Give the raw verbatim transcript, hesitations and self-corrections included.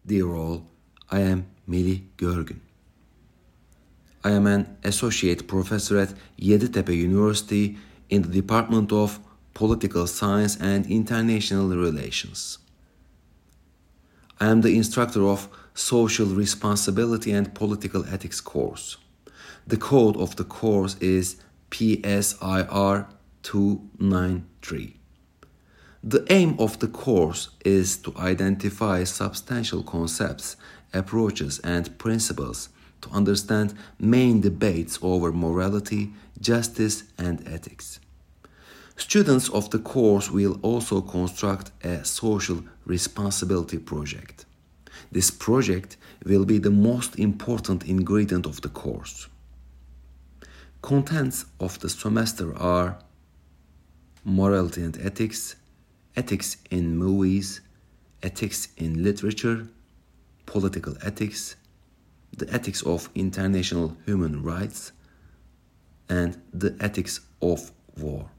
Dear all, I am Melih Görgün. I am an associate professor at Yeditepe University in the Department of Political Science and International Relations. I am the instructor of Social Responsibility and Political Ethics course. The code of the course is P S I R two ninety-three. The aim of the course is to identify substantial concepts, approaches, and principles to understand main debates over morality, justice, and ethics. Students of the course will also construct a social responsibility project. This project will be the most important ingredient of the course. Contents of the semester are morality and ethics, ethics in movies, ethics in literature, political ethics, the ethics of international human rights, and the ethics of war.